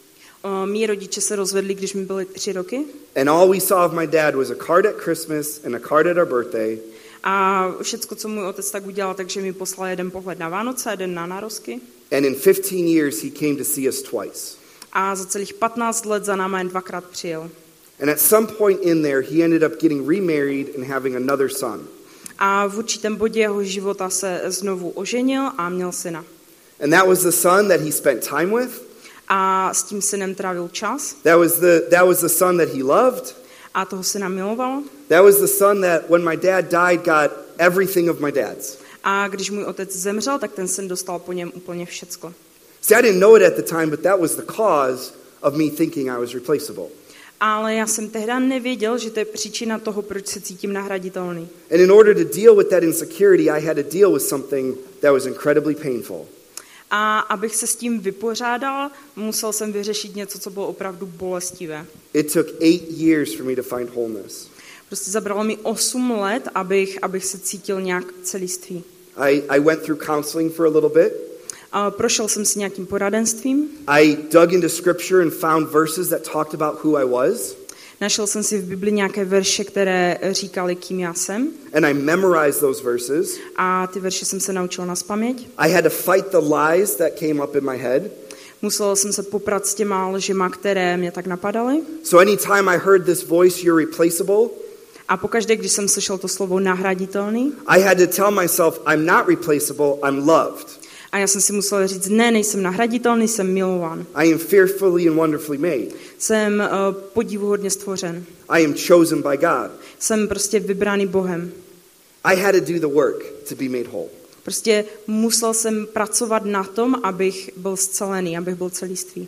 Mí rodiče se rozvedli, když mi byly 3 roky. And all we saw of my dad was a card at Christmas and a card at our birthday. A všecko, co můj otec tak udělal, takže mi poslal jeden pohled na Vánoce, jeden na narozky. And in 15 years he came to see us twice. A za celých 15 let za náma jen 2krát přijel. And at some point in there he ended up getting remarried and having another son. A v určitém bodě jeho života se znovu oženil a měl syna. And that was the son that he spent time with. A s tím synem trávil čas. That was the son that he loved. A toho syna miloval. That was the son that when my dad died got everything of my dad's. A když můj otec zemřel, tak ten syn dostal po něm úplně všecko. See, I didn't know it at the time, but that was the cause of me thinking I was replaceable. Ale já jsem tehdy nevěděl, že to je příčina toho, proč se cítím nahraditelný. And in order to deal with that insecurity, I had to deal with something that was incredibly painful. A abych se s tím vypořádal, musel jsem vyřešit něco, co bylo opravdu bolestivé. It took 8 years for me to find wholeness. Prostě zabralo mi 8 let, abych se cítil nějak celistvý. I went through counseling for a little bit. A prošel jsem si nějakým poradenstvím. I dug into scripture and found verses that talked about who I was. Našel jsem si v Bibli nějaké verše, které říkaly, kým já jsem. And I memorized those verses. A ty verše jsem se naučil nazpaměť. I had to fight the lies that came up in my head. Musel jsem se poprat s těma lžima, které mě tak napadaly. So anytime I heard this voice, you're replaceable, A pokaždé, když jsem slyšel to slovo nahraditelný, I had to tell myself, I'm not replaceable, I'm loved. a já jsem si musel říct, ne, nejsem nahraditelný, jsem milován. I am fearfully and wonderfully made. Jsem podivuhodně stvořen. I am chosen by God. Jsem prostě vybraný Bohem. I had to do the work to be made whole. Prostě musel jsem pracovat na tom, abych byl scelený, abych byl celistvý.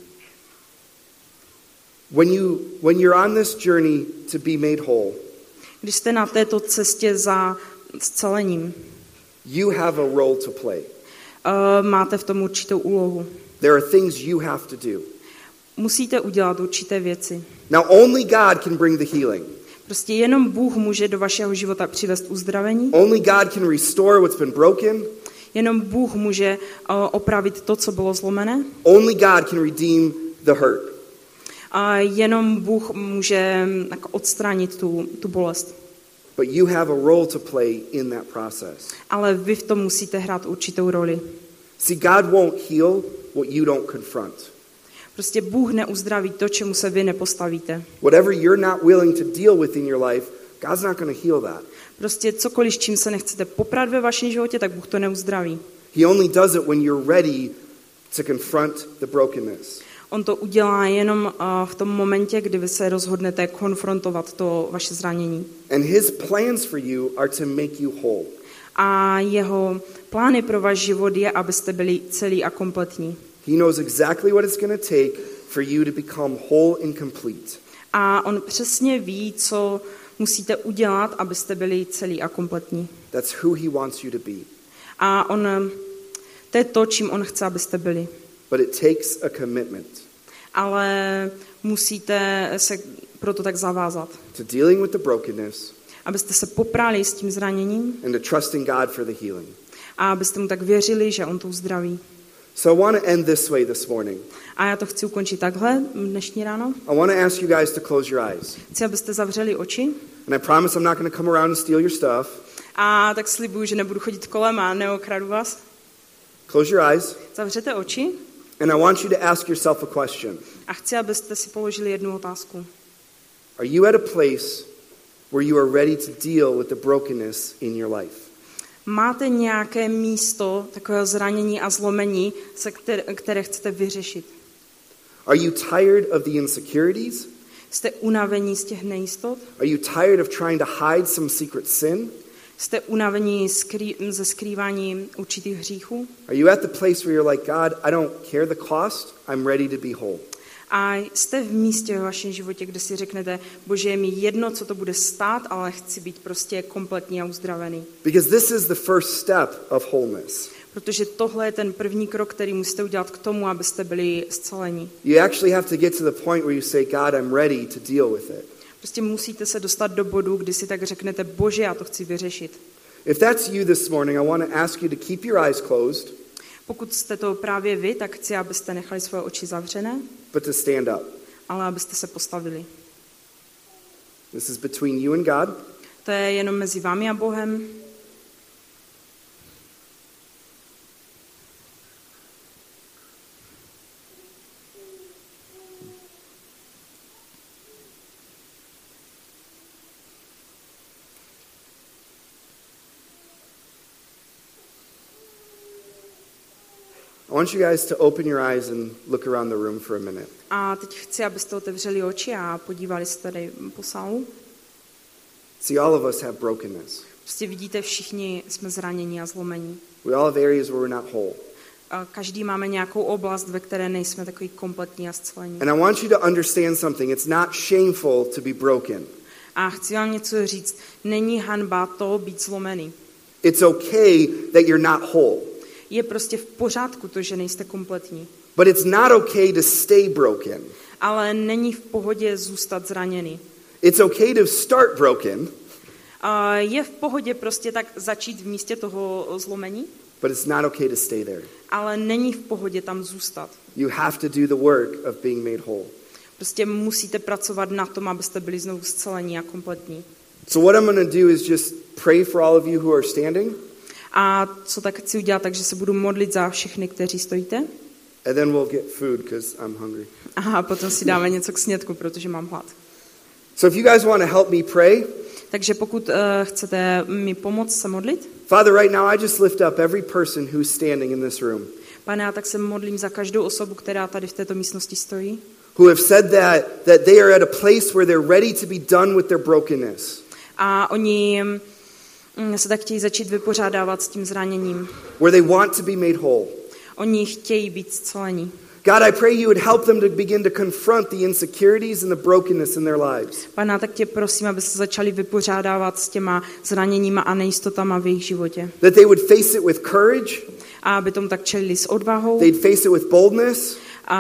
When you're on this journey to be made whole, Když jste na této cestě za scelením, you have a role to play. máte v tom určitou úlohu. There are things you have to do. Musíte udělat určité věci. Now only God can bring the healing. Prostě jenom Bůh může do vašeho života přivést uzdravení. Only God can restore what's been broken. Jenom Bůh může opravit to, co bylo zlomené. Only God can redeem the hurt. A jenom Bůh může odstranit tu bolest. But you have a role to play in that process. Ale vy v tom musíte hrát určitou roli. See, God won't heal what you don't confront. Prostě Bůh neuzdraví to, čemu se vy nepostavíte. Whatever you're not willing to deal with in your life, God's not going to heal that. Prostě cokoliv, čím se nechcete poprat ve vašem životě, tak Bůh to neuzdraví. He only does it when you're ready to confront the brokenness. On to udělá jenom v tom momentě, kdy vy se rozhodnete konfrontovat to vaše zranění. And his plans for you are to make you whole. A jeho plány pro váš život je, abyste byli celí a kompletní. He knows exactly what it's going to take for you to become whole and complete. A on přesně ví, co musíte udělat, abyste byli celí a kompletní. That's who he wants you to be. A to je to, čím on chce, abyste byli. But it takes a commitment Ale musíte se proto tak zavázat. to dealing with the brokenness Abyste se poprali s tím zraněním and to trusting God for the healing. a abyste mu tak věřili, že on to uzdraví. So I want to end this way this morning. A já to chci ukončit takhle dnešní ráno. I want to ask you guys to close your eyes. Chci, abyste zavřeli oči. And I promise I'm not going to come around and steal your stuff. A tak slibuju, že nebudu chodit kolem a neokradu vás. Close your eyes. Zavřete oči And I want you to ask yourself a question. a chci, abyste si položili jednu otázku. Are you at a place where you are ready to deal with the brokenness in your life? Máte nějaké místo takového zranění a zlomení, které chcete vyřešit? Are you tired of the insecurities? Jste unavení z těch nejistot? Are you tired of trying to hide some secret sin? Jste unavení ze skrývání určitých hříchů? Are you at the place where you're like, God, I don't care the cost, I'm ready to be whole? A jste v místě ve vašem životě, kde si řeknete, Bože, je mi jedno, co to bude stát, ale chci být prostě kompletní a uzdravený. Because this is the first step of wholeness. Protože tohle je ten první krok, který musíte udělat k tomu, abyste byli zceleni. You actually have to get to the point where you say, God, I'm ready to deal with it. Prostě musíte se dostat do bodu, kdy si tak řeknete, Bože, já to chci vyřešit. If that's you this morning, I want to ask you to keep your eyes closed, Pokud jste to právě vy, tak chci, abyste nechali svoje oči zavřené, but to stand up. ale abyste se postavili. This is between you and God. To je jenom mezi vámi a Bohem. I want you guys to open your eyes and look around the room for a minute. A teď chci, abyste otevřeli oči a podívali se tady po sálu. See, all of us have brokenness. Prostě vidíte, všichni jsme zranění a zlomení. We all have areas where we're not whole. A každý máme nějakou oblast, ve které nejsme takový kompletní a zcelení. And I want you to understand something. It's not shameful to be broken. A chci vám něco říct. Není hanba to být zlomený. It's okay that you're not whole. Je prostě v pořádku to, že nejste kompletní. But it's not okay to stay broken. Ale není v pohodě zůstat zraněný. It's okay to start broken, A je v pohodě prostě tak začít v místě toho zlomení, but it's not okay to stay there. ale není v pohodě tam zůstat. You have to do the work of being made whole. Prostě musíte pracovat na tom, abyste byli znovu zcelení a kompletní. So what I'm going to do is just pray for all of you who are standing, A co tak chci udělat, takže se budu modlit za všechny, kteří stojíte. and then we'll get food because I'm hungry. A potom si dáme něco k snědku, protože mám hlad. So if you guys want to help me pray, Takže pokud chcete mi pomoct se modlit, Father, right now I just lift up every person who's standing in this room, Pane, já tak se modlím za každou osobu, která tady v této místnosti stojí. who have said that they are at a place where they're ready to be done with their brokenness, A oni se tak chtějí začít vypořádávat s tím zraněním. where they want to be made whole. Oni chtějí být zcelení. God, I pray you would help them to begin to confront the insecurities and the brokenness in their lives. Pane, tak tě prosím, aby se začali vypořádávat s těma zraněníma a nejistotama v jejich životě. That they would face it with courage, A aby tomu tak čelili s odvahou, they'd face it with boldness,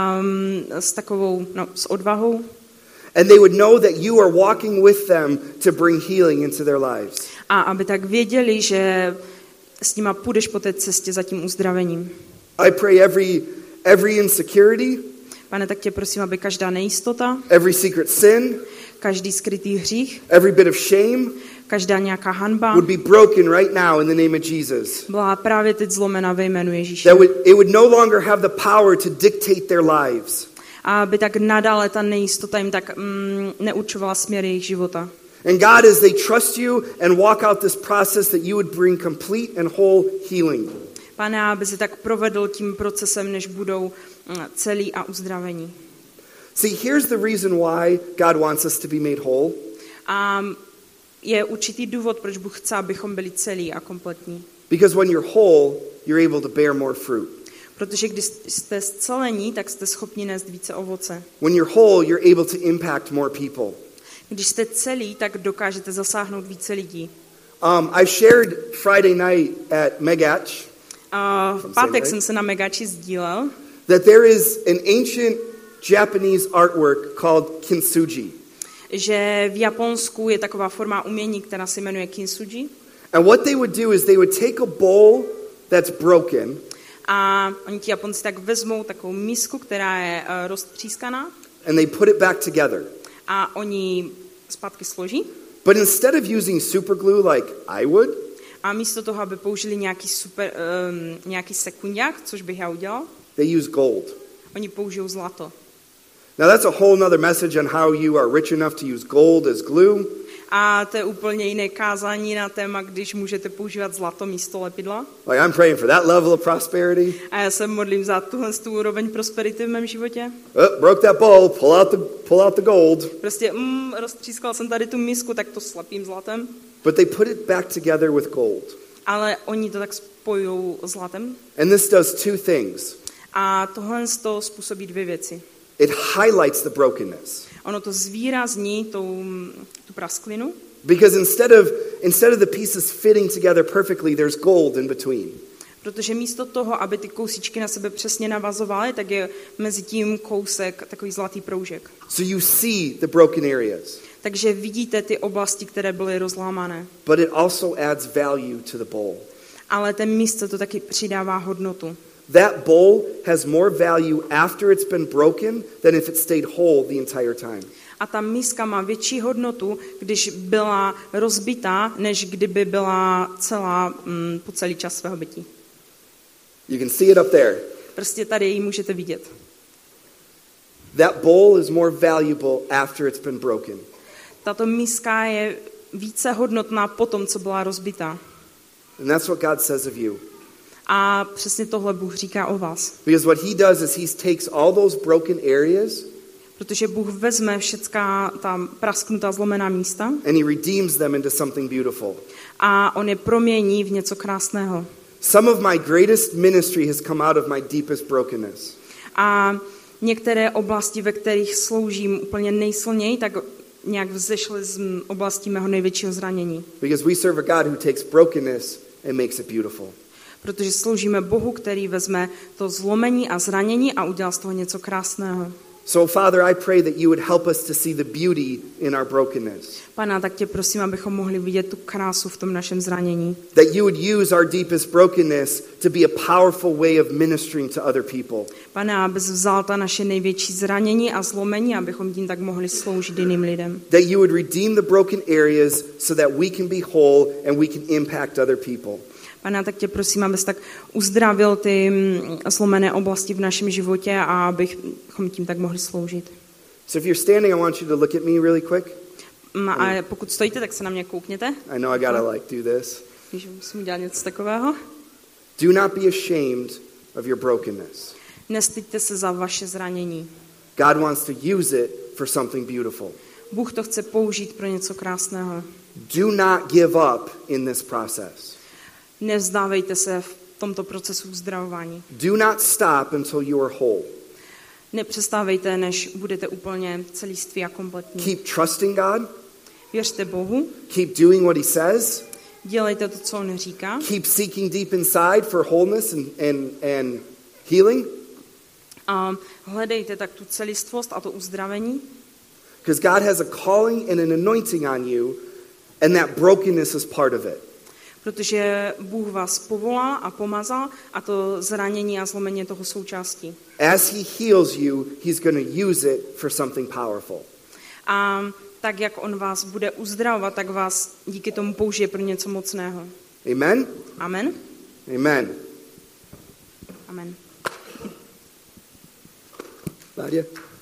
s odvahou. and they would know that you are walking with them to bring healing into their lives. A aby tak věděli, že s nima půjdeš po té cestě za tím uzdravením. I pray every insecurity, Pane, tak tě prosím, aby každá nejistota, every secret sin, každý skrytý hřích, every bit of shame každá nějaká hanba would be broken right now in the name of Jesus. byla právě teď zlomena ve jménu Ježíše. That it would no longer have the power to dictate their lives. A aby tak nadále ta nejistota jim tak neurčovala směr jejich života. And God, as they trust you and walk out this process, that you would bring complete and whole healing. Pane, aby si tak provedl tím procesem, než budou celí a uzdravení. See, here's the reason why God wants us to be made whole. A je určitý důvod, proč Bůh chce, abychom byli celí a kompletní. Because when you're whole, you're able to bear more fruit. Protože když jste zcelení, tak jste schopni nést více ovoce. When you're whole, you're able to impact more people. Když jste celí, tak dokážete zasáhnout více lidí. I shared Friday night at Megach V pátek jsem se na Megači sdílel, that there is an ancient Japanese artwork called kintsugi. že v Japonsku je taková forma umění, která se jmenuje kintsugi. And what they would do is they would take a bowl that's broken, A oni ti Japonci tak vezmou takovou misku, která je roztřískaná, and they put it back together. a oni zpátky složí. But instead of using super glue like I would, A místo toho, aby použili nějaký sekundák, což bych já udělal, they use gold. oni použijou zlato. Now that's a whole nother message on how you are rich enough to use gold as glue. A to je úplně jiné kázání na téma, když můžete používat zlato místo lepidla. Like I'm praying for that level of prosperity. A já se modlím za tuhle úroveň prosperity v mém životě. Oh, broke that bowl, pull out the gold. Prostě roztřískal jsem tady tu misku, tak to slepím zlatem. But they put it back together with gold. Ale oni to tak spojujou zlatem. And this does two things. A tohle způsobí dvě věci. It highlights the brokenness. Ono to zvýrazní tu prasklinu, Because instead of the pieces fitting together perfectly, there's gold in between. Protože místo toho, aby ty kousíčky na sebe přesně navazovaly, tak je mezi tím kousek takový zlatý proužek. So you see the broken areas. Takže vidíte ty oblasti, které byly rozlámané. But it also adds value to the bowl. Ale ten místo to taky přidává hodnotu. That bowl has more value after it's been broken than if it stayed whole the entire time. A ta miska má větší hodnotu, když byla rozbitá, než kdyby byla celá po celý čas svého bytí. You can see it up there. Prostě tady ji můžete vidět. That bowl is more valuable after it's been broken. Tato miska je více hodnotná po tom, co byla rozbitá. And that's what God says of you. A přesně tohle Bůh říká o vás. Because what he does is he takes all those broken areas Protože Bůh vezme všecká ta prasknutá zlomená místa and he redeems them into something beautiful. a on je promění v něco krásného. Some of my greatest ministry has come out of my deepest brokenness. A některé oblasti, ve kterých sloužím úplně nejsilněji, tak nějak vzešly z oblasti mého největšího zranění. Because we serve a God who takes brokenness and makes it beautiful. Protože sloužíme Bohu, který vezme to zlomení a zranění a udělá z toho něco krásného. So, Father, I pray that you would help us to see the beauty in our brokenness. Pane, tak tě prosím, abychom mohli vidět tu krásu v tom našem zranění. That you would use our deepest brokenness to be a powerful way of ministering to other people. Pane, abys vzal ta naše největší zranění a zlomení, abychom tím tak mohli sloužit jiným lidem. That you would redeem the broken areas so that we can be whole and we can impact other people. Pane, tak tě prosím, abys tak uzdravil ty zlomené oblasti v našem životě a abychom tím tak mohli sloužit. So if you're standing, I want you to look at me really quick. A pokud stojíte, tak se na mě koukněte. I know I gotta do this. Když musím udělat něco takového. Do not be ashamed of your brokenness. Nestyďte se za vaše zranění. God wants to use it for something beautiful. Bůh to chce použít pro něco krásného. Do not give up in this process. Nevzdávejte se v tomto procesu uzdravování. Do not stop until you are whole. Nepřestávejte, než budete úplně celiství a kompletní. Keep trusting God. Věřte Bohu. Keep doing what he says. Dělejte to, co on říká. Keep seeking deep inside for wholeness and healing. A hledejte tak tu celistvost a to uzdravení. Because God has a calling and an anointing on you, and that brokenness is part of it. Protože Bůh vás povolá a pomazal a to zranění a zlomení je toho součástí. As he heals you, he's going to use it for something powerful. A tak, jak on vás bude uzdravovat, tak vás díky tomu použije pro něco mocného. Amen? Amen? Amen. Amen. Nadia?